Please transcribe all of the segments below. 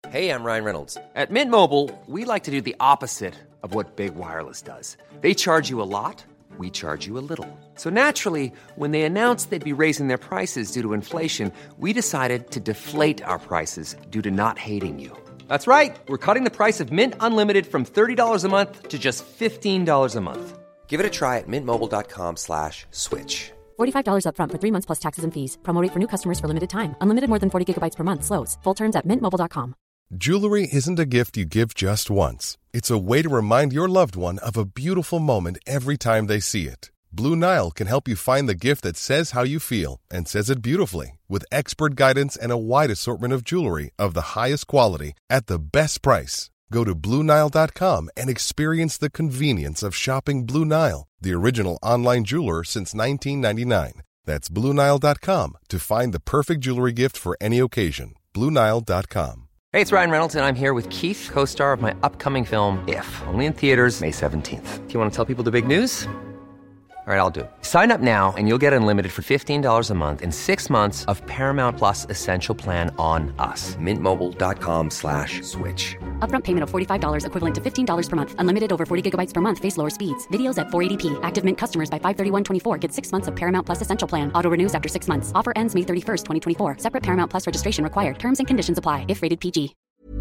Hey, I'm Ryan Reynolds. At Mint Mobile, we like to do the opposite of what Big Wireless does. They charge you a lot, we charge you a little. So naturally, when they announced they'd be raising their prices due to inflation, we decided to deflate our prices due to not hating you. That's right. We're cutting the price of Mint Unlimited from $30 a month to just $15 a month. Give it a try at mintmobile.com/switch. $45 up front for 3 months plus taxes and fees. Promo rate for new customers for limited time. Unlimited more than 40 gigabytes per month. Slows full terms at mintmobile.com. Jewelry isn't a gift you give just once. It's a way to remind your loved one of a beautiful moment every time they see it. Blue Nile can help you find the gift that says how you feel and says it beautifully, with expert guidance and a wide assortment of jewelry of the highest quality at the best price. Go to BlueNile.com and experience the convenience of shopping Blue Nile, the original online jeweler since 1999. That's BlueNile.com to find the perfect jewelry gift for any occasion. BlueNile.com. Hey, it's Ryan Reynolds, and I'm here with Keith, co-star of my upcoming film, If, only in theaters May 17th. Do you want to tell people the big news? All right, I'll do it. Sign up now and you'll get unlimited for $15 a month and 6 months of Paramount Plus Essential Plan on us. MintMobile.com/switch. Upfront payment of $45 equivalent to $15 per month. Unlimited over 40 gigabytes per month. Face lower speeds. Videos at 480p. Active Mint customers by 531.24 get 6 months of Paramount Plus Essential Plan. Auto renews after 6 months. Offer ends May 31st, 2024. Separate Paramount Plus registration required. Terms and conditions apply if rated PG.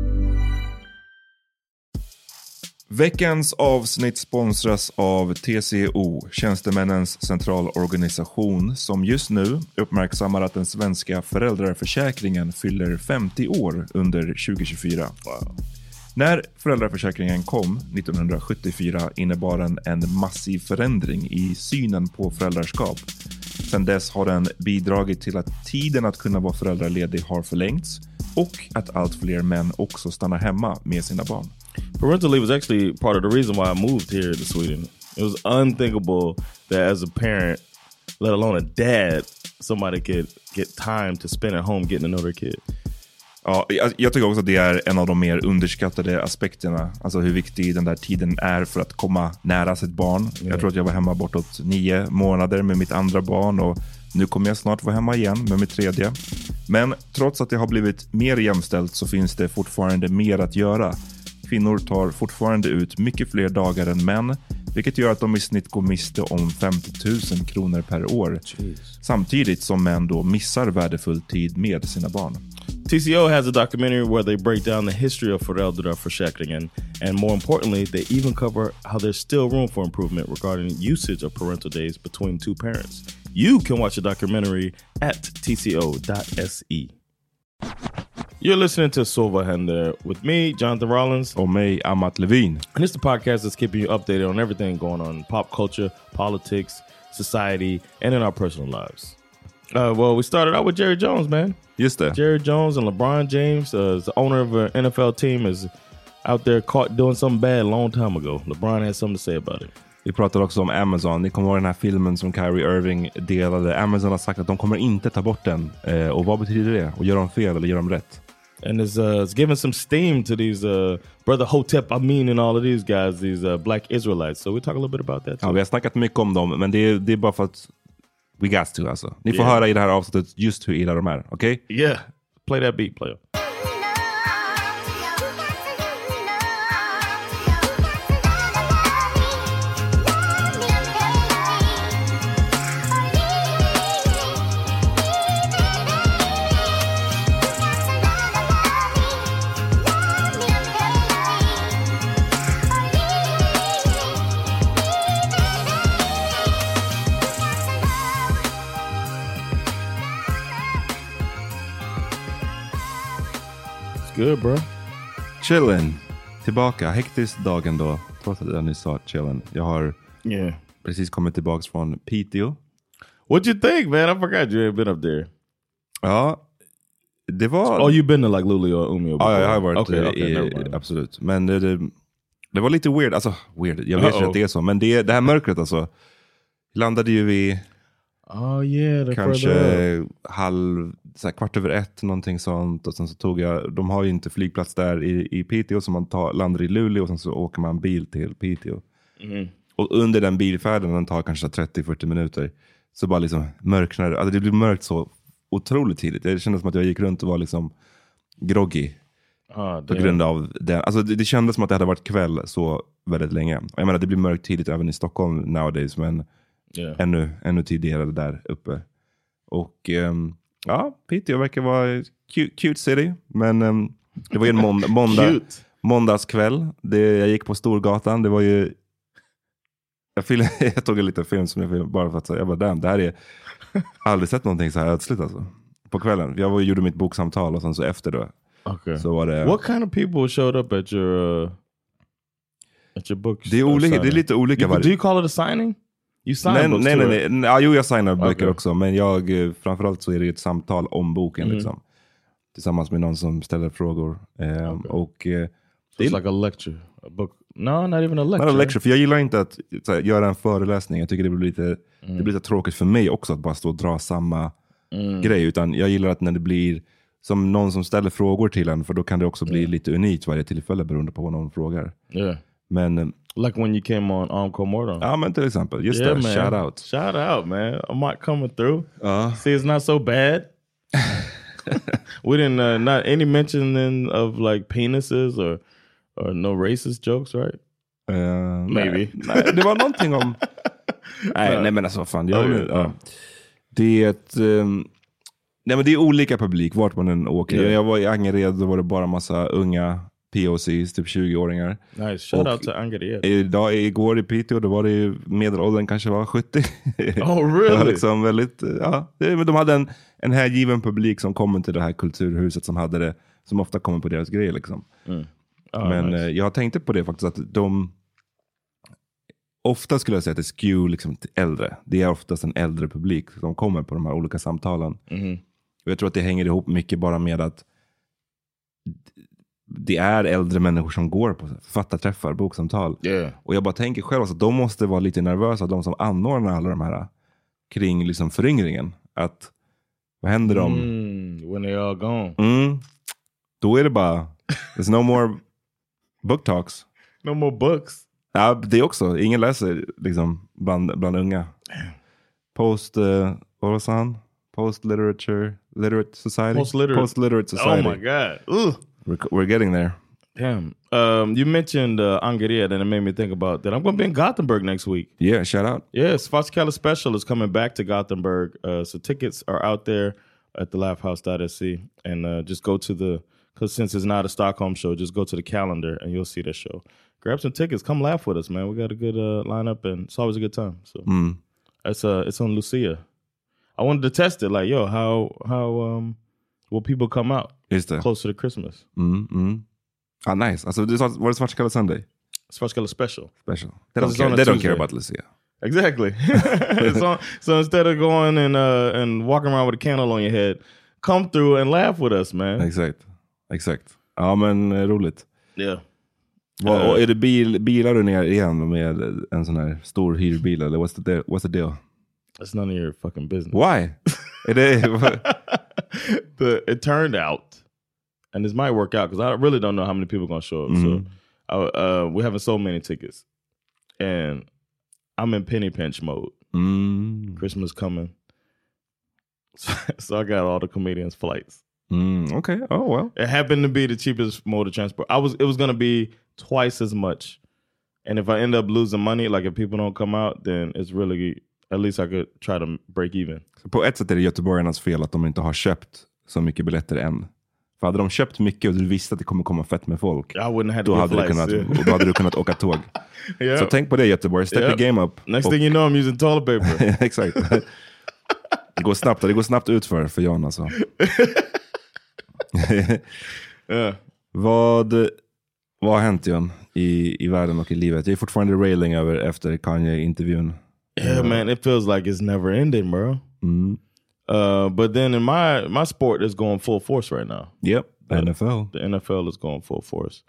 Veckans avsnitt sponsras av TCO, Tjänstemännens centralorganisation, som just nu uppmärksammar att den svenska föräldraförsäkringen fyller 50 år under 2024. Wow. När föräldraförsäkringen kom 1974 innebar den en massiv förändring i synen på föräldraskap. Sedan dess har den bidragit till att tiden att kunna vara föräldraledig har förlängts och att allt fler män också stannar hemma med sina barn. Parental leave was actually part of the reason why I moved here to Sweden. It was unthinkable that as a parent, let alone a dad, somebody could get time to spend at home getting to know their kid. Ja, jag tycker också att det är en av de mer underskattade aspekterna. Alltså hur viktig den där tiden är för att komma nära sitt barn. Yeah. Jag tror att jag var hemma bortåt 9 månader med mitt andra barn och nu kommer jag snart vara hemma igen med mitt tredje. Men trots att det har blivit mer jämställt så finns det fortfarande mer att göra. Kvinnor tar fortfarande ut mycket fler dagar än män, vilket gör att de i snitt går miste om 50 000 kronor per år. Jeez. Samtidigt som män då missar värdefull tid med sina barn. TCO has a documentary where they break down the history of föräldraförsäkringen, and more importantly, they even cover how there's still room for improvement regarding usage of parental days between two parents. You can watch the documentary at tco.se. You're listening to Sova Händer with me, Jonathan Rollins. Och mig, Amat Levin. And it's the podcast that's keeping you updated on everything going on in pop culture, politics, society, and in our personal lives. Well, we started out with Jerry Jones, man. Just det. Jerry Jones and LeBron James, the owner of an NFL team, is out there caught doing something bad a long time ago. LeBron has something to say about it. Vi pratar också om Amazon. Ni kommer ihåg den här filmen som Kyrie Irving delade. Amazon har sagt att de kommer inte ta bort den. Och vad betyder det? Och gör de fel eller gör de rätt? And it's given some steam to these Brother Hotep Amin and all of these guys, these black Israelites. So we talk a little bit about that too. Ja, vi har snackat mycket om dem, men det är bara för att we got to, alltså. Ni får höra i det här avsnittet just hur illa de är, okej? Okay? Yeah, play that beat, player. Good, bro. Chillen. Tillbaka. Hektisk dagen då. Trots att jag nyss sa chillen. Jag har precis kommit tillbaka från Piteå. What you think, man? I forgot you had been up there. Ja, det var... Oh, you've been to like Luleå och Umeå before. Ja, jag har varit absolut. Men det var lite weird. Alltså, weird. Jag vet inte att det är så. Men det här mörkret alltså. Landade ju vid... kanske kvart över 1 någonting sånt, och sen så tog jag, de har ju inte flygplats där i Piteå, så man landar i Luleå och sen så åker man bil till Piteå. Och under den bilfärden, den tar kanske 30-40 minuter, så bara liksom mörknar, alltså det blir mörkt så otroligt tidigt. Det kändes som att jag gick runt och var liksom groggy. På grund av det. Alltså det kändes som att det hade varit kväll så väldigt länge. Jag menar, det blir mörkt tidigt även i Stockholm nowadays, men ännu tidigare där uppe. Och Piteå verkar vara cute city, men det var ju en måndagskväll. Jag gick på Storgatan, det var ju jag tog en liten film som jag filmade bara för att säga, jag bara damn, det här är aldrig sett någonting så här ödsligt alltså. På kvällen. Jag gjorde mitt boksamtal och sen så efter då. Okay. Så var det... What kind of people showed up at your book? Det är lite olika. Do you call it a signing? You sign books too? Nej. Ja, jag signar böcker också, men framförallt så är det ett samtal om boken liksom. Tillsammans med någon som ställer frågor. Och it's like a lecture, a book. No, not even a lecture. Not a lecture, för jag gillar inte att göra en föreläsning. Jag tycker det blir lite tråkigt för mig också att bara stå och dra samma grej, utan jag gillar att när det blir som någon som ställer frågor till en, för då kan det också bli lite unikt varje tillfälle beroende på vad någon frågar. Men like when you came on Encore Morton. Ja, men till exempel. Just det, shout out. Shout out, man. I might coming through. See, it's not so bad. We didn't, not any mentioning of like penises or no racist jokes, right? Maybe. Nej, det var någonting om... nej, men alltså fan. Det är ett... nej, men det är olika publik vart man än åker. Jag var i Angered, då var det bara massa unga POCs, typ 20-åringar. Nice, shout out to Angered. Igår i Piteå, då var det ju medelåldern kanske var 70. Oh, really? Det var liksom väldigt, men de hade en härgiven publik som kommer till det här kulturhuset som hade det, som ofta kommer på deras grejer liksom. Men nice. Jag tänkte på det faktiskt, att de ofta skulle jag säga att det skew liksom till äldre. Det är oftast en äldre publik som kommer på de här olika samtalen. Och jag tror att det hänger ihop mycket bara med att det är äldre människor som går på författarträffar, boksamtal. Och jag bara tänker själv att de måste vara lite nervösa, de som anordnar alla de här kring liksom föryngringen. Att vad händer om when they all gone? Då är det bara there's no more book talks. No more books. Ja, det också. Ingen läser liksom bland unga. Vad var han? Literate Society. Post-literate Society. Oh my god. Ugh. We're getting there. Damn. You mentioned Angered, and it made me think about that. I'm going to be in Gothenburg next week. Yeah, shout out. Yes, Svartskalle Special is coming back to Gothenburg. So tickets are out there at thelaughhouse.se. And just go to because since it's not a Stockholm show, just go to the calendar and you'll see the show. Grab some tickets. Come laugh with us, man. We got a good lineup, and it's always a good time. So it's on Lucia. I wanted to test it, like, how will people come out closer to Christmas? Nice. Alltså, var det Svartskalle Sunday? Svartskalle Special. They don't care about Lucia. Exactly. So instead of going and walking around with a candle on your head, come through and laugh with us, man. Exakt. Ja, men roligt. Yeah. Och är det bilar du ner igen med en sån här stor hyrbil, eller what's the deal? That's none of your fucking business. Why? It turned out, and this might work out because I really don't know how many people are going to show up. So we haven't sold many tickets, and I'm in penny pinch mode. Christmas coming, so I got all the comedians' flights. Okay. Oh well. It happened to be the cheapest mode of transport. It was going to be twice as much, and if I end up losing money, like if people don't come out, then it's really, at least I could try to break even. Så på ett sätt är det göteborgarnas fel att de inte har köpt så mycket biljetter än. För hade de köpt mycket och du visste att det kommer komma fett med folk, då hade du kunnat åka tåg. Så tänk på det, Göteborg. Step the game up. Next thing you know, I'm using toilet paper. Exakt. Det går snabbt ut för Jan alltså. Vad har hänt, Jan, i världen och i livet? Jag är fortfarande railing över efter Kanye-intervjun. Yeah, man, it feels like it's never ending, bro. But then in my sport is going full force right now. Yep, NFL. The NFL is going full force.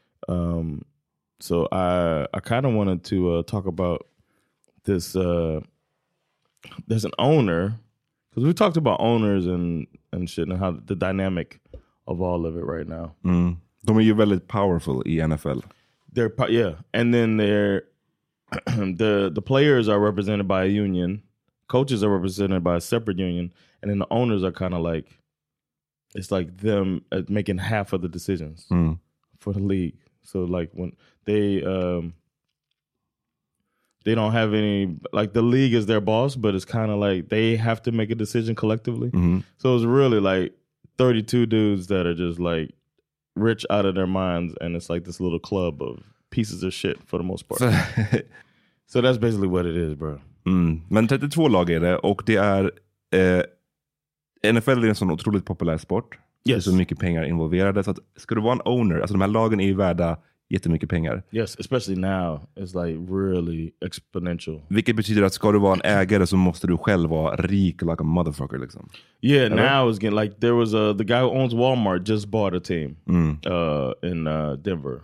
So I kind of wanted to talk about this. There's an owner, because we talked about owners and shit and how the dynamic of all of it right now. De är ju väldigt powerful i NFL. And then the players are represented by a union, coaches are represented by a separate union, and then the owners are kind of like it's like them making half of the decisions for the league. So like when they don't have any, like the league is their boss, but it's kind of like they have to make a decision collectively. So it's really like 32 dudes that are just like rich out of their minds, and it's like this little club of pieces of shit for the most part. So that's basically what it is, bro. Men 32 lag är det, och det är NFL är en sån otroligt populär sport. Det är så mycket pengar involverade, så att ska du vara en owner, alltså de här lagen är ju värda jättemycket pengar. Yes, especially now. It's like really exponential. Vilket betyder att ska du vara en ägare så måste du själv vara rik like a motherfucker liksom. Yeah, now it's getting like there was the guy who owns Walmart just bought a team in Denver.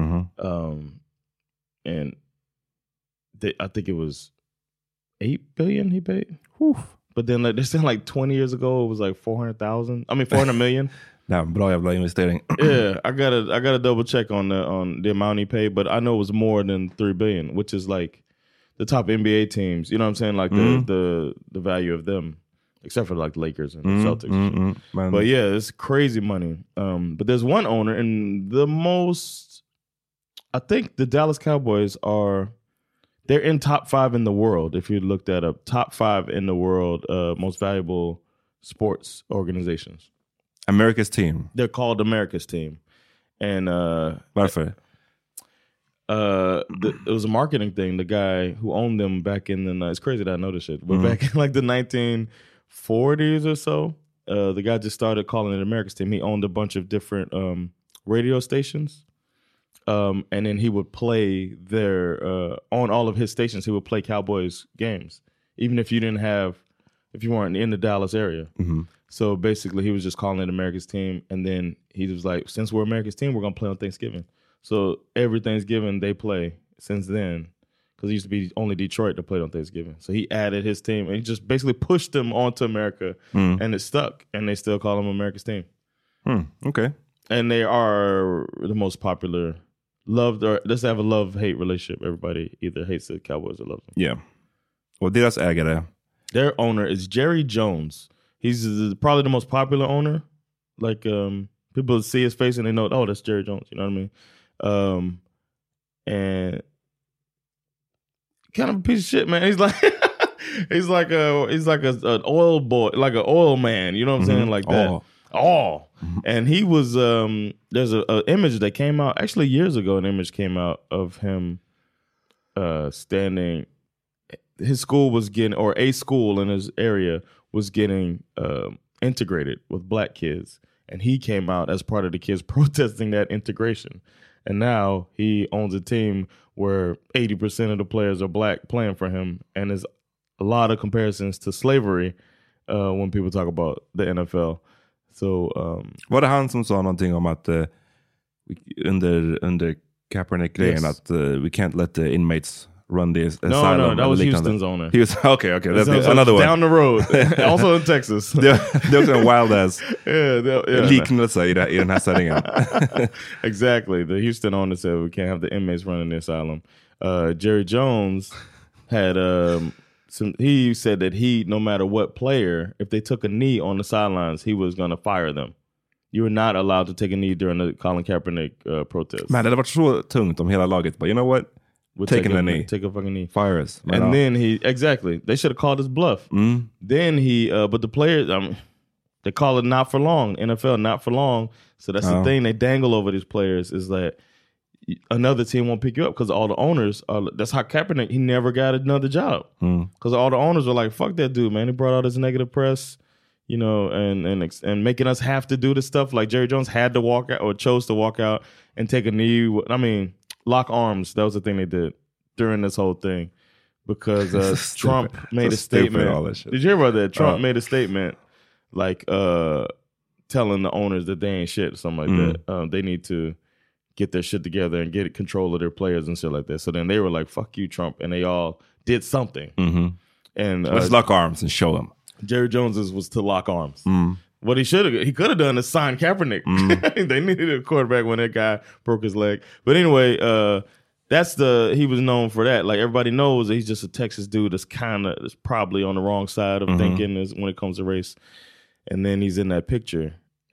And I think it was $8 billion he paid. But then like, they're saying like 20 years ago it was like 400 million. Nej, bra jävla investering. Yeah, I gotta double check on the amount he paid, but I know it was more than $3 billion, which is like the top NBA teams. You know what I'm saying? Like the value of them, except for like the Lakers and the Celtics. But yeah, it's crazy money. But there's one owner, and I think the Dallas Cowboys they're in top 5 in the world. If you look that up, top 5 in the world, most valuable sports organizations. America's team. They're called America's team. And varför? It was a marketing thing. The guy who owned them back in it's crazy that I know this shit, but back in like the 1940s or so, the guy just started calling it America's team. He owned a bunch of different radio stations. And then he would play on all of his stations, he would play Cowboys games, even if you weren't in the Dallas area. So basically he was just calling it America's team. And then he was like, since we're America's team, we're going to play on Thanksgiving. So every Thanksgiving they play since then, because it used to be only Detroit that played on Thanksgiving. So he added his team and he just basically pushed them onto America and it stuck. And they still call them America's team. Okay. And they are the most popular, loved, or let's have a love-hate relationship. Everybody either hates the Cowboys or loves them. Yeah. Och deras ägare? Their owner is Jerry Jones. He's probably the most popular owner. Like, people see his face and they know, oh, that's Jerry Jones. You know what I mean? And kind of a piece of shit, man. He's like, he's like an oil boy, like an oil man. You know what I'm saying? Like that. Oh. And he was, there's an image that came out, actually years ago, an image came out of him standing. His school was getting, or a school in his area was getting integrated with black kids. And he came out as part of the kids protesting that integration. And now he owns a team where 80% of the players are black playing for him. And there's a lot of comparisons to slavery when people talk about the NFL. So, var det han som sa någonting om att under Kaepernick-grejen att we can't let the inmates run the asylum? No, that was Houston's owner. He was, okay, that's another one. Down the road, also in Texas. Det är också en wild-ass liknelse i den här sättningen. Exactly. The Houston owner said we can't have the inmates running the asylum. Jerry Jones had... he said that no matter what player, if they took a knee on the sidelines, he was going to fire them. You were not allowed to take a knee during the Colin Kaepernick protest. Man, det hade varit så tungt om hela laget, but you know what? We're taking a knee. Take a fucking knee. Fire us. And then they should have called his bluff. Then but the players, they call it not for long. NFL, not for long. So that's the thing they dangle over these players is that another team won't pick you up because all the owners that's how Kaepernick, he never got another job because all the owners were like, fuck that dude, man. He brought all this negative press, you know, and making us have to do this stuff. Like Jerry Jones had to walk out or chose to walk out and take a knee. I mean, lock arms. That was the thing they did during this whole thing because Trump made a statement. Did you hear about that? Trump made a statement like telling the owners that they ain't shit or something like that. They need to get their shit together and get control of their players and shit like that. So then they were like, fuck you, Trump. And they all did something. And let's lock arms and show them. Jerry Jones's was to lock arms. What he could have done is sign Kaepernick. They needed a quarterback when that guy broke his leg. But anyway, he was known for that. Like everybody knows that he's just a Texas dude that's probably on the wrong side of thinking when it comes to race. And then he's in that picture.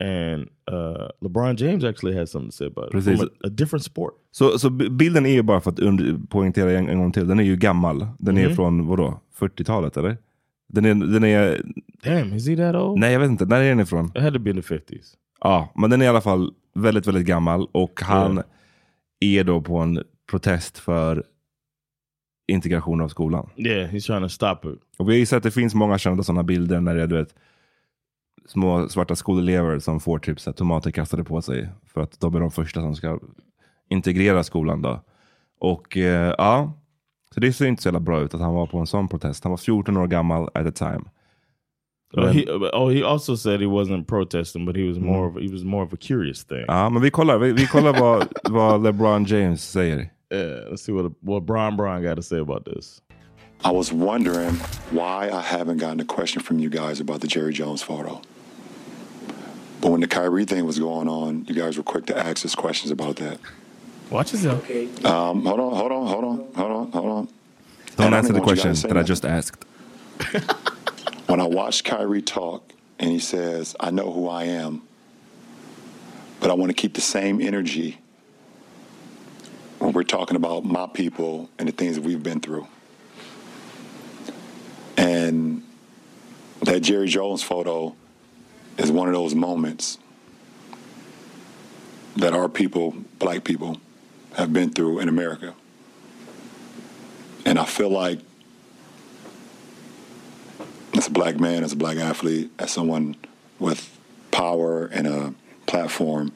And LeBron James actually has something to say about it. Precis. From a different sport. Så bilden är ju bara för att poängtera en gång till. Den är ju gammal. Den är från, vadå? 40-talet eller? Den är... Damn, is he that old? Nej, jag vet inte. När är den ifrån? It had to be in the 50s. Ja, men den är i alla fall väldigt, väldigt gammal. Och han är då på en protest för integration av skolan. Yeah, he's trying to stop it. Och vi har ju sett att det finns många kända sådana bilder när det är, du vet, små svarta skolelever som får typ så här, tomater kastade på sig för att de är de första som ska integrera skolan då. Och ja, så det ser inte så jävla bra ut att han var på en sån protest. Han var 14 år gammal at the time. He also said he wasn't protesting, but he was more of a curious thing. Ja, men vi kollar vad LeBron James säger. Let's see what Bron got to say about this. I was wondering why I haven't gotten a question from you guys about the Jerry Jones photo. But when the Kyrie thing was going on, you guys were quick to ask us questions about that. Watch yourself. Okay. Hold on. Don't answer the question that I just asked. When I watched Kyrie talk and he says, I know who I am, but I want to keep the same energy when we're talking about my people and the things that we've been through. And that Jerry Jones photo is one of those moments that our people, black people, have been through in America. And I feel like as a black man, as a black athlete, as someone with power and a platform,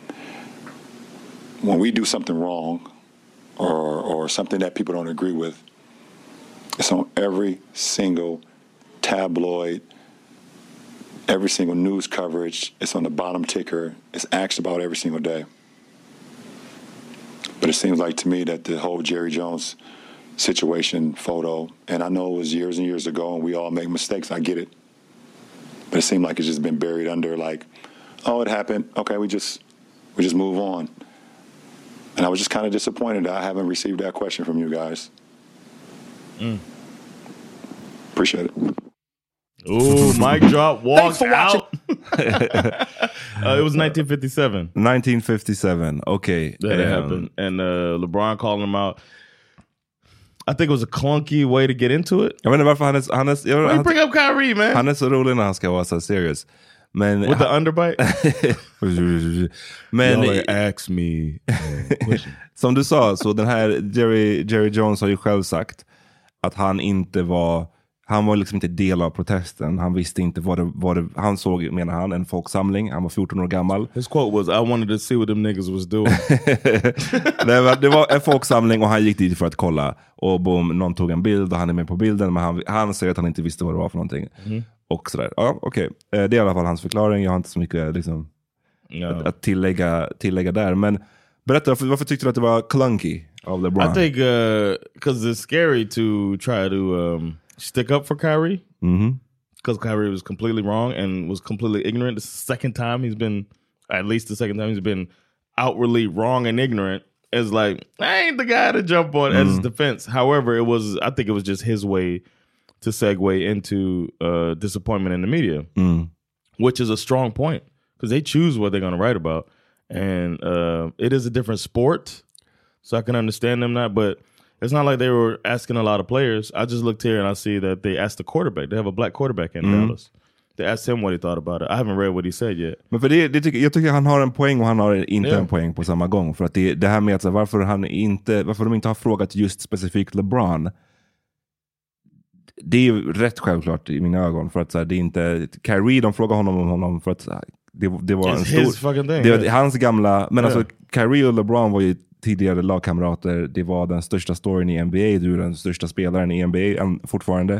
when we do something wrong or something that people don't agree with, it's on every single tabloid, every single news coverage. It's on the bottom ticker. It's asked about every single day. But it seems like to me that the whole Jerry Jones situation photo, and I know it was years and years ago and we all make mistakes, I get it. But it seemed like it's just been buried under like, oh, it happened. Okay, we just move on. And I was just kind of disappointed that I haven't received that question from you guys. Appreciate it. Ooh, mic drop, walk out. It was 1957. 1957, okay. That happened. And LeBron called him out. I think it was a clunky way to get into it. Jag vet inte varför han bring up Kyrie, man. Han är så rolig när han ska vara så serious. Men with the underbite. Men ask me. Som du sa, så den här Jerry Jones har ju själv sagt att han var liksom inte del av protesten. Han visste inte vad det han såg, menar han, en folksamling. Han var 14 år gammal. His quote was, I wanted to see what them niggas was doing. det var en folksamling och han gick dit för att kolla. Och boom, någon tog en bild och han är med på bilden. Men han säger att han inte visste vad det var för någonting. Och sådär. Ja, okej. Det är i alla fall hans förklaring. Jag har inte så mycket liksom, att tillägga där. Men berätta, varför tyckte du att det var clunky av LeBron? I think because it's scary to try to stick up for Kyrie. Because Kyrie was completely wrong and was completely ignorant. This is the second time he's been outwardly wrong and ignorant. It's like, I ain't the guy to jump on as his defense. However, I think it was just his way to segue into disappointment in the media, which is a strong point because they choose what they're going to write about. And it is a different sport, so I can understand them not, but it's not like they were asking a lot of players. I just looked here and I see that they asked the quarterback. They have a black quarterback in Dallas. They asked him what he thought about it. I haven't read what he said yet. Men för jag tycker han har en poäng och han har inte en poäng på samma gång. För att det här med att så, varför de inte har frågat just specifikt LeBron, det är ju rätt självklart i mina ögon. För att så här, det är inte Kyrie, de frågar honom för att så här, det var en stor... Det var hans gamla... Men alltså Kyrie och LeBron var ju tidigare lagkamrater. Det var den största storyn i NBA. Du är den största spelaren i NBA fortfarande.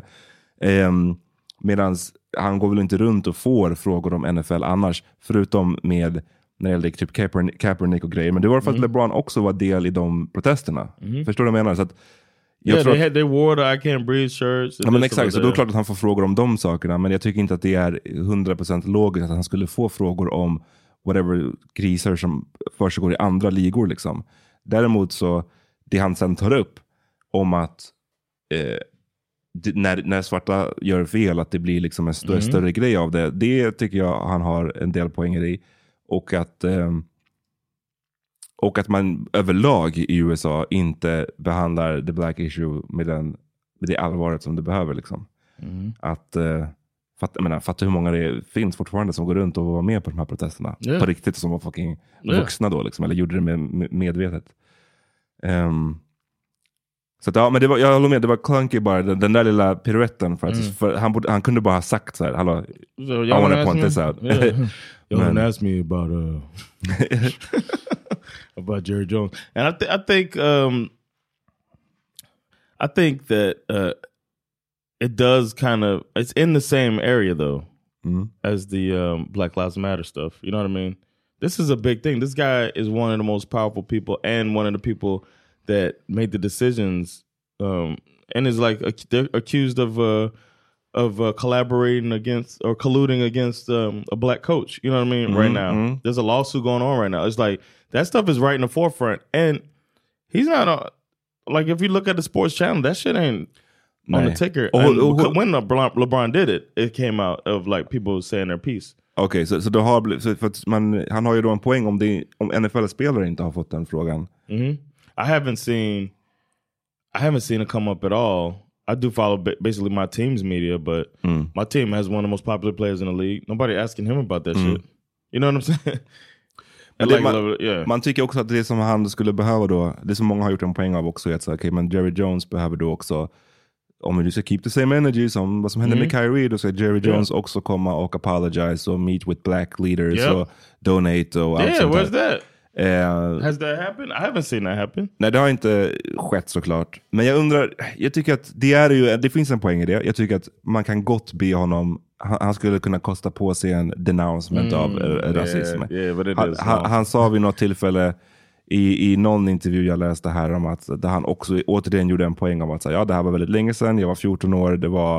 Medans han går väl inte runt och får frågor om NFL annars. Förutom med när det gällde typ Kaepernick och grejer. Men det var för att LeBron också var del i de protesterna. Förstår du vad jag menar? Så att they wore the I can't breathe shirts. Ja, men exakt, så då är det klart att han får frågor om de sakerna. Men jag tycker inte att det är 100% logiskt att han skulle få frågor om whatever kriser som försiggår i andra ligor liksom. Däremot så, det han sen tar upp om att när svarta gör fel, att det blir liksom en större grej av det. Det tycker jag han har en del poänger i. Och att man överlag i USA inte behandlar the black issue med det allvaret som det behöver liksom. Att fatta hur många det finns fortfarande som går runt och var med på de här protesterna på riktigt, som var fucking vuxna då liksom, eller gjorde det medvetet. Så att, ja, men jag håller med, det var clunky bara, den där lilla piruetten för han kunde bara ha sagt så här, hallå, so I wanna point this out. Y'all asked me about about Jerry Jones, and I think that it does kind of, it's in the same area though as the Black Lives Matter stuff. You know what I mean? This is a big thing. This guy is one of the most powerful people and one of the people that made the decisions, and is like they're accused of collaborating against or colluding against a black coach. You know what I mean? Right now, there's a lawsuit going on right now. It's like that stuff is right in the forefront, and he's not like, if you look at the sports channel, that shit ain't on the ticker. When LeBron did it, it came out of like people saying their piece. Okej, så då för att han har ju då en poäng om NFL-spelare inte har fått den frågan. I haven't seen it come up at all. I do follow basically my team's media, but my team has one of the most popular players in the league. Nobody asking him about that shit. You know what I'm saying? Man tycker också att det som han skulle behöva då, det som många har gjort en poäng av också, är att okay, men Jerry Jones behöver då också, om vi ska keep the same energy som vad som hände med Kyrie, då ska Jerry Jones också komma och apologize och meet with black leaders och donate och allt sånt där. Where's that? Has that happened? I haven't seen that happen. Nej, det har inte skett såklart. Men jag tycker att det finns en poäng i det. Jag tycker att man kan gott be honom, han skulle kunna kosta på sig en denouncement av rasism. Han sa vid något tillfälle i någon intervju jag läste här om att där han också återigen gjorde en poäng om att säga, ja, det här var väldigt länge sedan, jag var 14 år, det var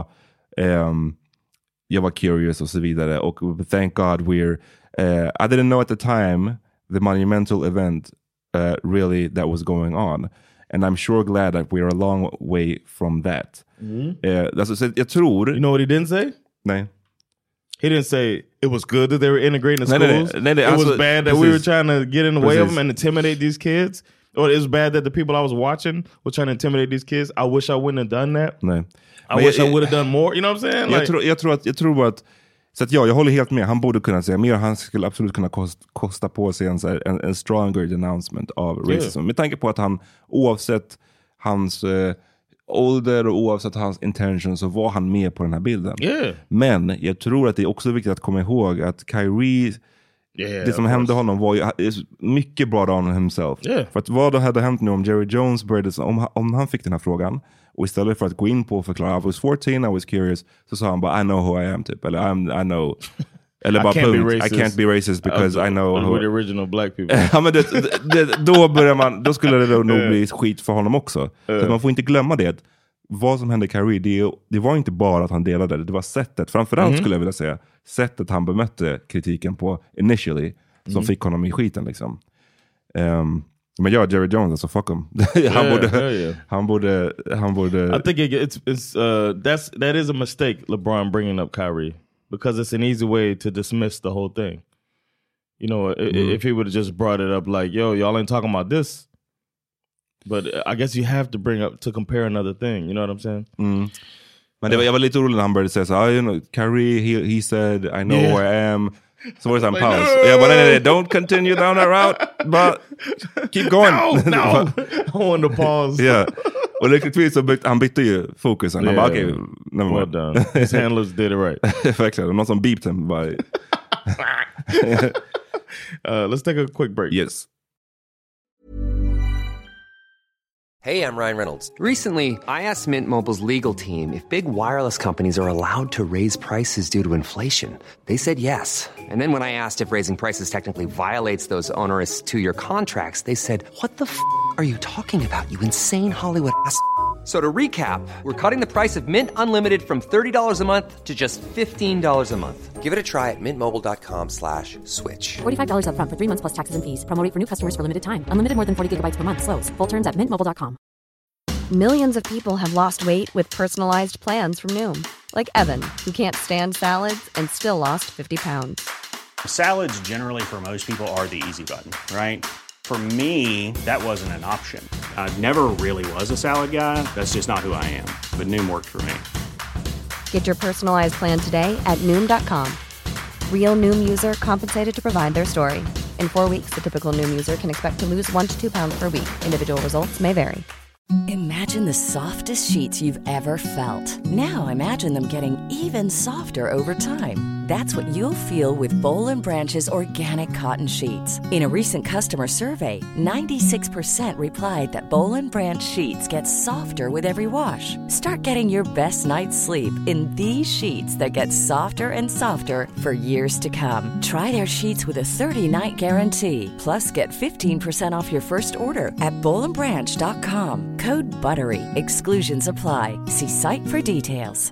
jag var curious och så vidare, och thank God I didn't know at the time the monumental event really that was going on, and I'm sure glad that we're a long way from that. Alltså, jag tror, you know what he didn't say? Nej. He didn't say it was good that they were integrating the schools. Nej, it was bad that we were trying to get in the way of them and intimidate these kids. Or it was bad that the people I was watching were trying to intimidate these kids. I wish I wouldn't have done that. Nej. I wish I would have done more. You know what I'm saying? Jag tror bara att, så att jag håller helt med. Han borde kunna säga mer. Han skulle absolut kunna kosta på sig en stronger denouncement av racism. Med tanke på att han, oavsett hans ålder och oavsett hans intention, så var han med på den här bilden. Men jag tror att det är också viktigt att komma ihåg att Kyrie, det som hände honom var ju mycket brought on himself. För att vad hade hänt nu om Jerry Jones började, om han fick den här frågan och istället för att gå in på och förklara I was 14, I was curious, så sa han bara I know who I am typ, eller I know, eller bara I can't be racist because I know who the original black people. Ja, men då skulle det nog bli skit för honom också. Så man får inte glömma det. Vad som hände Kyrie, det var inte bara att han delade det var sättet, framförallt skulle jag vilja säga, sättet han bemötte kritiken på initially, som fick honom i skiten liksom. Men Jerry Jones, alltså fuck him. Han borde. I think that is a mistake, LeBron bringing up Kyrie, because it's an easy way to dismiss the whole thing. You know, if he would have just brought it up like, yo, y'all ain't talking about this. But I guess you have to bring up to compare another thing. You know what I'm saying? Men jag var lite orolig när han började säga så, you know, Kyrie, he said, I know who I am. Så var det en paus. Jag bara, nej, don't continue down that route, but keep going. No. I want to pause. Yeah. Och lyckligtvis så han bytte ju fokusen. Han bara, okay, never mind. Well done. His handlers did it right. Verkligen. Någon som beeped him. Bara. Let's take a quick break. Yes. Hey, I'm Ryan Reynolds. Recently, I asked Mint Mobile's legal team if big wireless companies are allowed to raise prices due to inflation. They said yes. And then when I asked if raising prices technically violates those onerous 2-year contracts, they said, what the f*** are you talking about, you insane Hollywood ass? So to recap, we're cutting the price of Mint Unlimited from $30 a month to just $15 a month. Give it a try at mintmobile.com/switch. $45 up front for 3 months plus taxes and fees. Promo rate for new customers for limited time. Unlimited more than 40 gigabytes per month slows. Full terms at mintmobile.com. Millions of people have lost weight with personalized plans from Noom. Like Evan, who can't stand salads and still lost 50 pounds. Salads generally for most people are the easy button, right? For me, that wasn't an option. I never really was a salad guy. That's just not who I am. But Noom worked for me. Get your personalized plan today at Noom.com. Real Noom user compensated to provide their story. In 4 weeks, the typical Noom user can expect to lose 1 to 2 pounds per week. Individual results may vary. Imagine the softest sheets you've ever felt. Now imagine them getting even softer over time. That's what you'll feel with Boll & Branch's organic cotton sheets. In a recent customer survey, 96% replied that Boll & Branch sheets get softer with every wash. Start getting your best night's sleep in these sheets that get softer and softer for years to come. Try their sheets with a 30-night guarantee. Plus, get 15% off your first order at bollandbranch.com. Code BUTTERY. Exclusions apply. See site for details.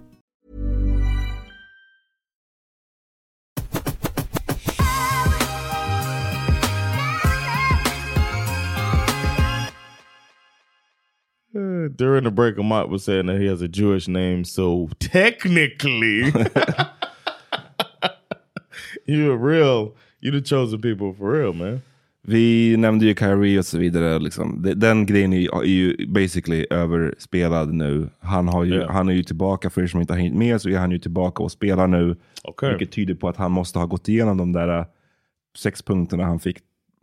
During the break, Amat was saying that he has a Jewish name, so technically, you're the chosen people for real, man. Vi nämnde ju Kyrie och så vidare. Liksom. Den grejen är ju basically överspelad nu. Han är ju tillbaka, för er som inte har hängt med så är han ju tillbaka och spelar nu. Okay. Vilket tyder på att han måste ha gått igenom de där 6 punkterna han fick.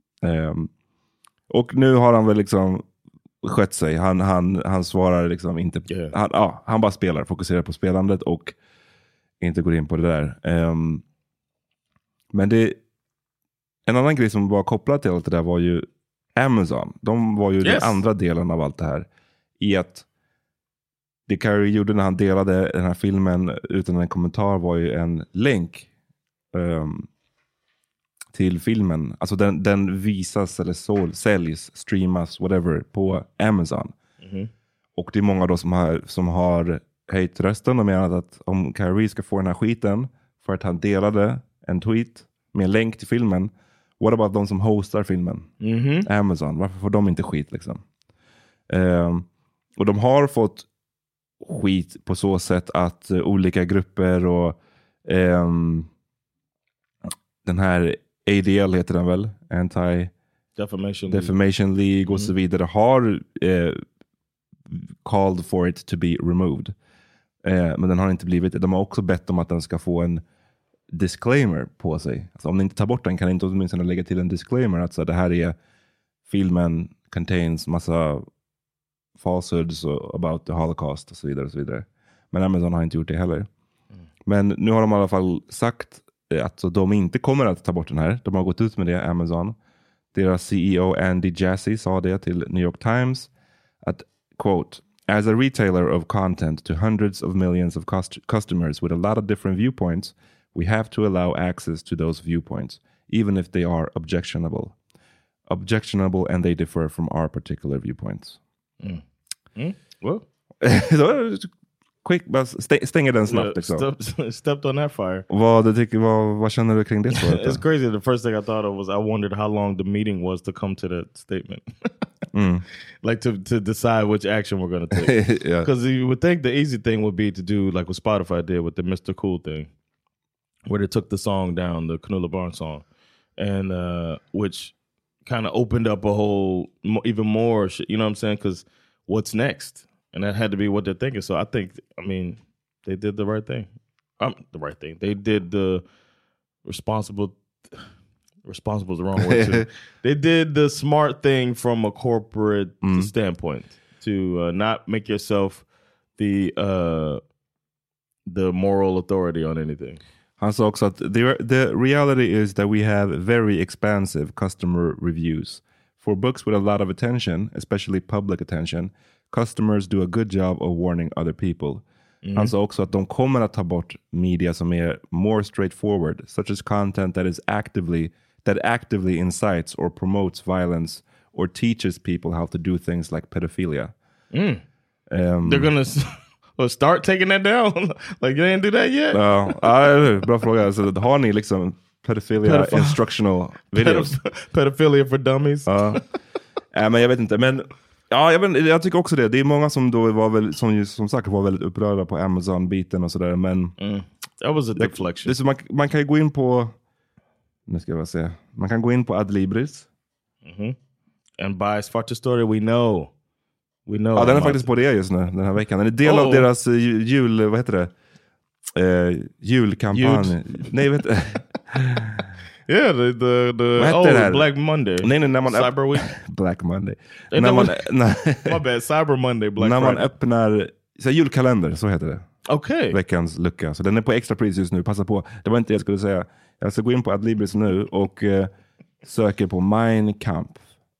Och nu har han väl liksom skött sig. Han svarar liksom inte. Yeah. Han bara spelar, fokuserar på spelandet och inte går in på det där. Men en annan grej som var kopplad till allt det där var ju Amazon. De var ju den andra delen av allt det här. I att det Kyrie gjorde när han delade den här filmen utan en kommentar var ju en länk till filmen. Alltså den visas eller säljs, streamas, whatever på Amazon. Mm-hmm. Och det är många då som har höjt rösten och menat att om Kyrie ska få den här skiten för att han delade en tweet med en länk till filmen, what about de som hostar filmen? Mm-hmm. Amazon, varför får de inte skit liksom? Och de har fått skit på så sätt att olika grupper och den här ADL heter den väl? Anti-Defamation League och så vidare har called for it to be removed. Men den har inte blivit det. De har också bett om att den ska få en disclaimer på sig. Alltså om ni inte tar bort den kan ni inte åtminstone lägga till en disclaimer att så det här är filmen contains massa falsehoods about the Holocaust och så vidare och så vidare. Men Amazon har inte gjort det heller. Men nu har de i alla fall sagt att de inte kommer att ta bort den här. De har gått ut med det, Amazon. Deras CEO Andy Jassy sa det till New York Times att, quote, as a retailer of content to hundreds of millions of customers with a lot of different viewpoints, we have to allow access to those viewpoints, even if they are objectionable and they differ from our particular viewpoints. Well, quick, bara stänger den snabbt liksom. Stepped on that fire. Vad känner du kring det? It's crazy. The first thing I thought of was I wondered how long the meeting was to come to that statement. Like to decide which action we're going to take. Because you would think the easy thing would be to do like what Spotify did with the Mr. Cool thing, where they took the song down, the Canula Barnes song, and which kind of opened up a whole even more shit, you know what I'm saying? Because what's next? And that had to be what they're thinking. So I think, they did the right thing. They did the responsible is the wrong word too. They did the smart thing from a corporate standpoint to not make yourself the moral authority on anything. Han sa också att the reality is that we have very expansive customer reviews. For books with a lot of attention, especially public attention, customers do a good job of warning other people. Han sa också att de kommer att ta bort media som är more straightforward, such as content that actively incites or promotes violence or teaches people how to do things like pedophilia. They're gonna start taking that down. Like you didn't do that yet? Bra fråga. Alltså, har ni liksom pedophilia instructional videos? Pedophilia for dummies? Men jag vet inte. Men Ja, jag tycker också det. Det är många som då var väl, som sagt var väldigt upprörda på Amazon-biten och sådär, men that was a deflection. Det, så man kan ju gå in på, nu ska jag se, man kan gå in på Adlibris. And by Svarta Story we know. Ja, den är faktiskt på det just nu, den här veckan. Den är del av deras jul, vad heter det? Julkampanj. Nej, vet du. Yeah, the Black Monday. Nej, när man Cyber Week. Black Monday. När man, my bad, Cyber Monday, Black när Friday. man öppnar så julkalender, så heter det. Okej. Veckans lucka. Så den är på extra pris just nu, passa på. Det var inte det jag skulle säga. Jag ska gå in på Adlibris nu och söker på Mein Kampf.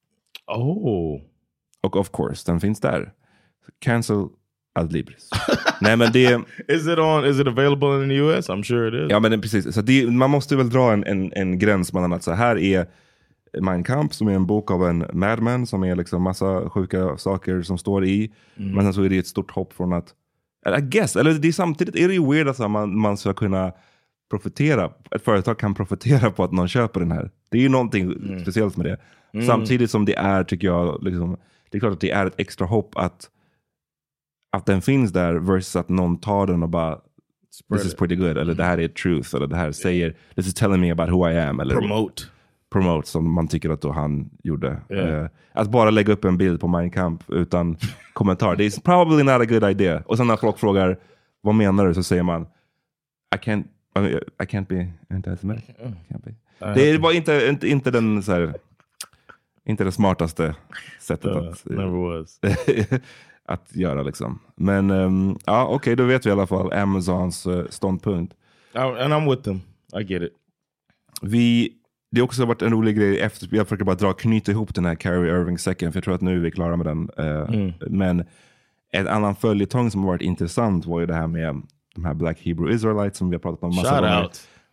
Och of course, den finns där. Cancel Adlibris. Nej, men det Is it available in the US? I'm sure it is. Ja, men precis. Så man måste väl dra en gräns mellan att så här är Mein Kampf, som är en bok av en madman, som är liksom massa sjuka saker som står i. Men sen så är det ett stort hopp från att, I guess, eller det är samtidigt är det ju weird att man ska kunna profitera, ett företag kan profitera på att någon köper den här. Det är ju någonting speciellt med det. Samtidigt som det är, tycker jag, liksom, det är klart att det är ett extra hopp att den finns där versus att någon tar den och bara this is pretty good, eller det här är truth, eller det här säger this is telling me about who I am, eller promote som man tycker att då han gjorde. Att bara lägga upp en bild på Mein Kampf utan kommentar, det är probably not a good idea. Och sen när folk frågar vad menar du, så säger man I can't be anti-Semitic. Det var inte den så här, inte det smartaste sättet att never was. att göra liksom. Men ja, okej, då vet vi i alla fall Amazons ståndpunkt. And I'm with them. I get it. Det har också varit en rolig grej efter, jag försöker bara knyta ihop den här Kyrie Irving-säcken, för jag tror att nu är vi klara med den. Men en annan följetong som har varit intressant var ju det här med de här Black Hebrew Israelites som vi har pratat om massa gånger.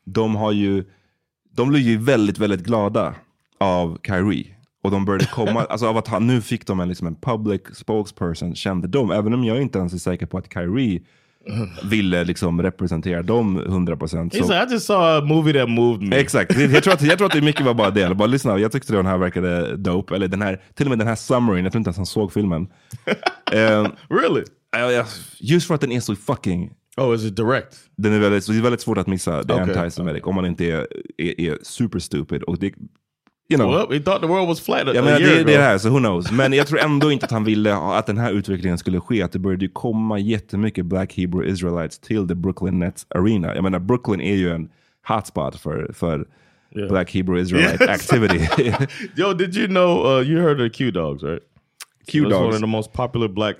De blev ju väldigt, väldigt glada av Kyrie. Och de började komma, alltså av att nu fick de en public spokesperson, kände de, även om jag inte ens är säker på att Kyrie ville liksom representera dem 100%. Så I just saw a movie that moved me. Exakt, jag tror att det mycket var bara det. Bara lyssna, jag tyckte den här verkade dope. Eller den här, till och med den här summaryn, jag tror inte ens han såg filmen. Really? Just för att den är så fucking... Oh, is it direct? Den är väldigt, så det är väldigt svårt att missa det anti-Semitic om man inte är super stupid. Och det, you know, well, he thought the world was flat. Ja, men det är här, så who knows. Men jag tror ändå inte att han ville att den här utvecklingen skulle ske. Att det började komma jättemycket Black Hebrew Israelites till the Brooklyn Nets Arena. Jag menar, Brooklyn är ju en hotspot för Black Hebrew Israelite activity. Yo, did you know, you heard of Q-Dogs, right? Q-Dogs. One of the most popular black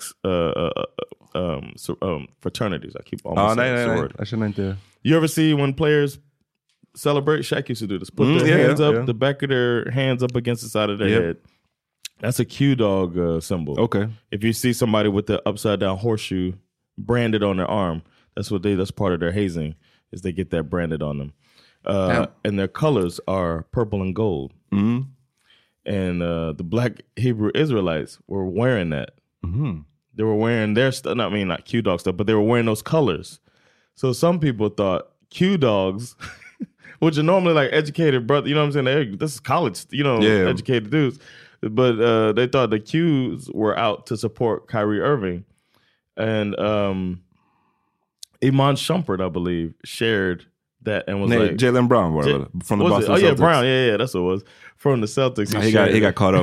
fraternities. I keep almost saying the word. I shouldn't do. You ever see when players celebrate? Shaq used to do this. Put their hands up, the back of their hands up against the side of their head. That's a Q-Dog symbol. Okay. If you see somebody with the upside down horseshoe branded on their arm, that's part of their hazing, is they get that branded on them. And their colors are purple and gold. Mm-hmm. And the Black Hebrew Israelites were wearing that. Mm-hmm. They were wearing their stuff. I mean, not Q-Dog stuff, but they were wearing those colors. So some people thought Q-Dogs, which are normally like educated brother, you know what I'm saying? This is college, educated dudes. But they thought the Qs were out to support Kyrie Irving. And Iman Shumpert, I believe, shared that and was like... Jaylen Brown was it? From the Boston Celtics. Yeah, Brown. Yeah, that's what it was. From the Celtics. He got caught up.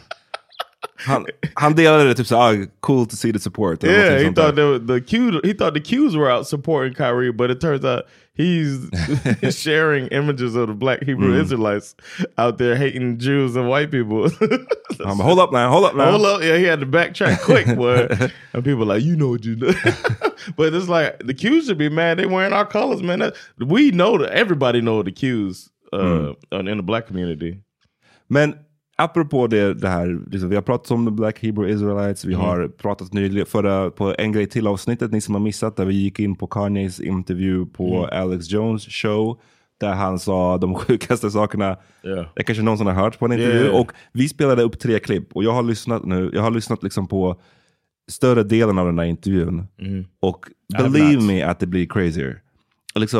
Han delade det typ så cool to see the support. Yeah, he thought the Qs were out supporting Kyrie, but it turns out he's sharing images of the Black Hebrew Israelites out there hating Jews and white people. Hold up now. Yeah, he had to backtrack quick, boy. And people are like, you know what you do. But it's like, the Qs should be mad. They wearing our colors, man. We know that everybody know the Qs in the black community. Men apropå det här, liksom, vi har pratat om the Black Hebrew Israelites, vi har pratat nyligen på en grej till avsnittet, ni som har missat, där vi gick in på Kanyes intervju på Alex Jones show, där han sa de sjukaste sakerna. Det kanske någon som har hört på en intervju. Och vi spelade upp 3 klipp, och jag har lyssnat liksom på större delen av den här intervjun. Och believe me att det blir crazier. Liksom,